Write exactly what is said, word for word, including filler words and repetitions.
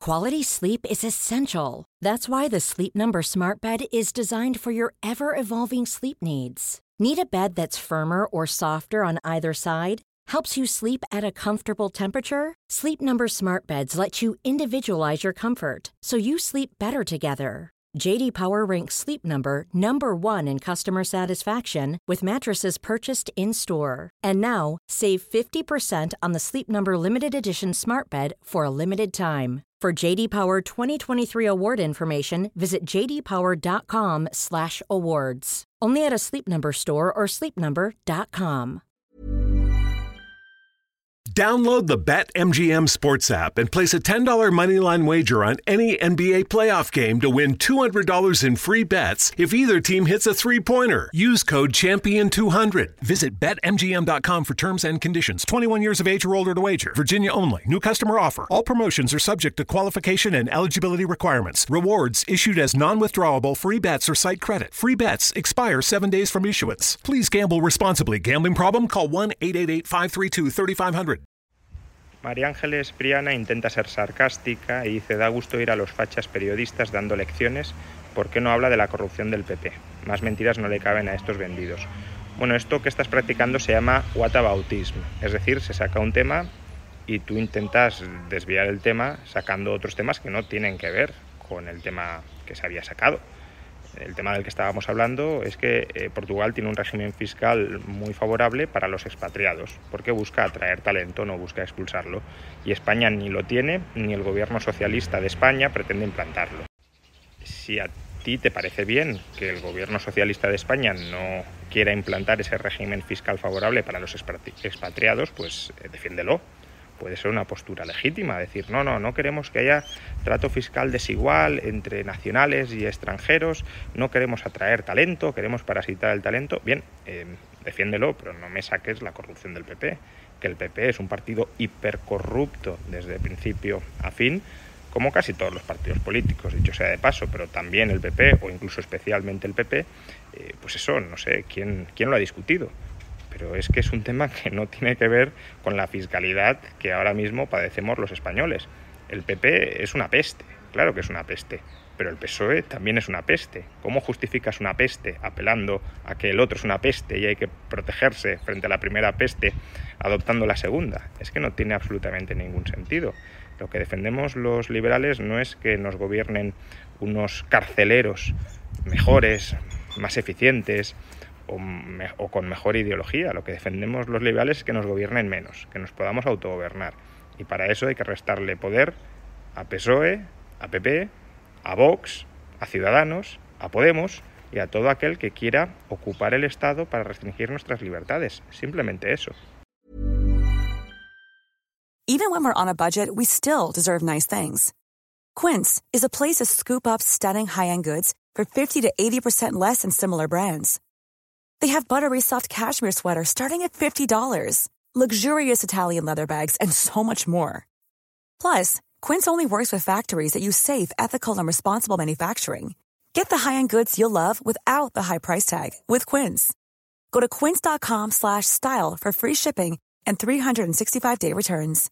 Quality sleep is essential. That's why the Sleep Number Smart Bed is designed for your ever-evolving sleep needs. Need a bed that's firmer or softer on either side? Helps you sleep at a comfortable temperature? Sleep Number Smart Beds let you individualize your comfort, so you sleep better together. J D Power ranks Sleep Number number one in customer satisfaction with mattresses purchased in-store. And now, save fifty percent on the Sleep Number Limited Edition Smart Bed for a limited time. For J D Power twenty twenty-three award information, visit j d power dot com slash awards. Only at a Sleep Number store or sleep number dot com. Download the BetMGM Sports app and place a ten dollars moneyline wager on any N B A playoff game to win two hundred dollars in free bets if either team hits a three-pointer. Use code champion two hundred. Visit bet M G M dot com for terms and conditions. twenty-one years of age or older to wager. Virginia only. New customer offer. All promotions are subject to qualification and eligibility requirements. Rewards issued as non-withdrawable free bets or site credit. Free bets expire seven days from issuance. Please gamble responsibly. Gambling problem? Call one eight eight eight, five three two, three five zero zero. María Ángeles Priana intenta ser sarcástica y dice: da gusto ir a los fachas periodistas dando lecciones, ¿por qué no habla de la corrupción del P P? Más mentiras no le caben a estos vendidos. Bueno, esto que estás practicando se llama whataboutism, es decir, se saca un tema y tú intentas desviar el tema sacando otros temas que no tienen que ver con el tema que se había sacado. El tema del que estábamos hablando es que eh, Portugal tiene un régimen fiscal muy favorable para los expatriados, porque busca atraer talento, no busca expulsarlo. Y España ni lo tiene, ni el gobierno socialista de España pretende implantarlo. Si a ti te parece bien que el gobierno socialista de España no quiera implantar ese régimen fiscal favorable para los expatriados, pues eh, defiéndelo. Puede ser una postura legítima, decir, no, no, no queremos que haya trato fiscal desigual entre nacionales y extranjeros, no queremos atraer talento, queremos parasitar el talento. Bien, eh, defiéndelo, pero no me saques la corrupción del P P, que el P P es un partido hipercorrupto desde principio a fin, como casi todos los partidos políticos, dicho sea de paso, pero también el P P, o incluso especialmente el P P, eh, pues eso, no sé, ¿quién, quién lo ha discutido? Pero es que es un tema que no tiene que ver con la fiscalidad que ahora mismo padecemos los españoles. El P P es una peste, claro que es una peste, pero el P S O E también es una peste. ¿Cómo justificas una peste apelando a que el otro es una peste y hay que protegerse frente a la primera peste adoptando la segunda? Es que no tiene absolutamente ningún sentido. Lo que defendemos los liberales no es que nos gobiernen unos carceleros mejores, más eficientes, O, me, o con mejor ideología. Lo que defendemos los liberales es que nos gobiernen menos, que nos podamos autogobernar. Y para eso hay que restarle poder a P S O E, a P P, a Vox, a Ciudadanos, a Podemos y a todo aquel que quiera ocupar el Estado para restringir nuestras libertades. Simplemente eso. Even when we're on a budget, we still deserve nice things. Quince is a place to scoop up stunning high-end goods for fifty to eighty percent less than similar brands. They have buttery soft cashmere sweaters starting at fifty dollars, luxurious Italian leather bags, and so much more. Plus, Quince only works with factories that use safe, ethical, and responsible manufacturing. Get the high-end goods you'll love without the high price tag with Quince. Go to quince dot com slash style for free shipping and three sixty-five day returns.